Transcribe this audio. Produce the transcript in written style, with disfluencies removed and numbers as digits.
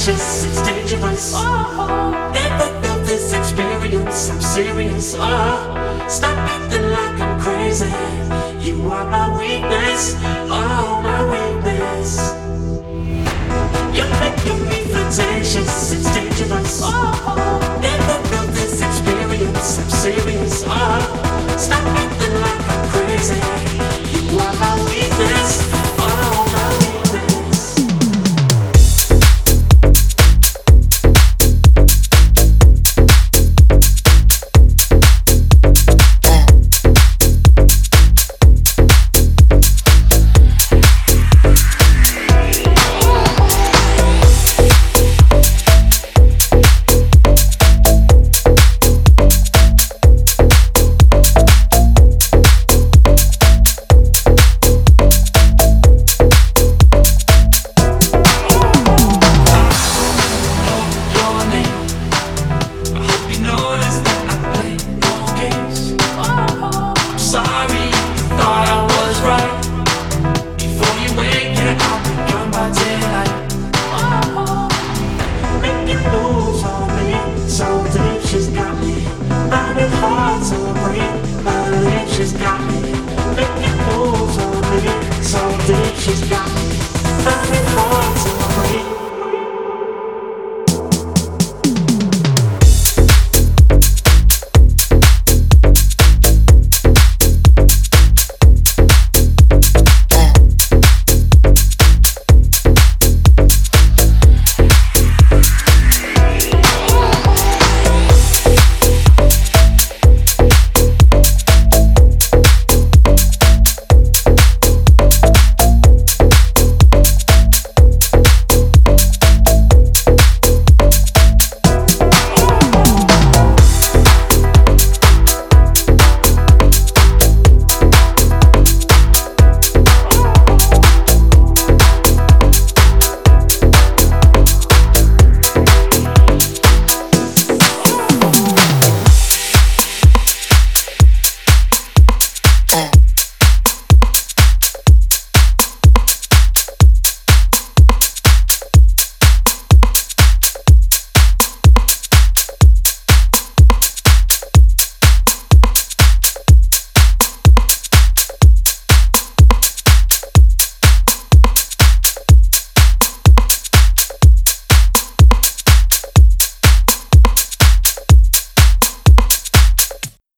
flirtatious, it's dangerous. Never felt this experience, I'm serious. Stop acting like I'm crazy. You are my weakness, oh my weakness. You're making me flirtatious, it's dangerous. Never felt this experience, I'm serious. Stop acting like I'm crazy. You are my weakness, oh my weakness. She's got